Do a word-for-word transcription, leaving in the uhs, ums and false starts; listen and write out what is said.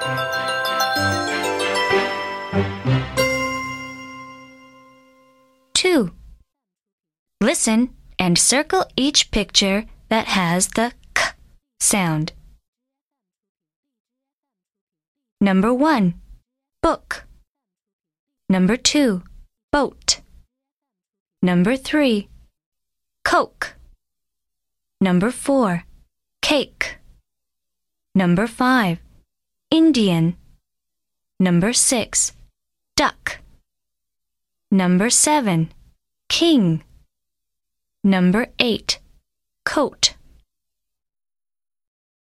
two. Listen and circle each picture that has the k sound. Number one, book. Number two, boat. Number three, Coke. Number four, cake. Number five, Indian. Number six, duck. Number seven, king. Number eight, coat.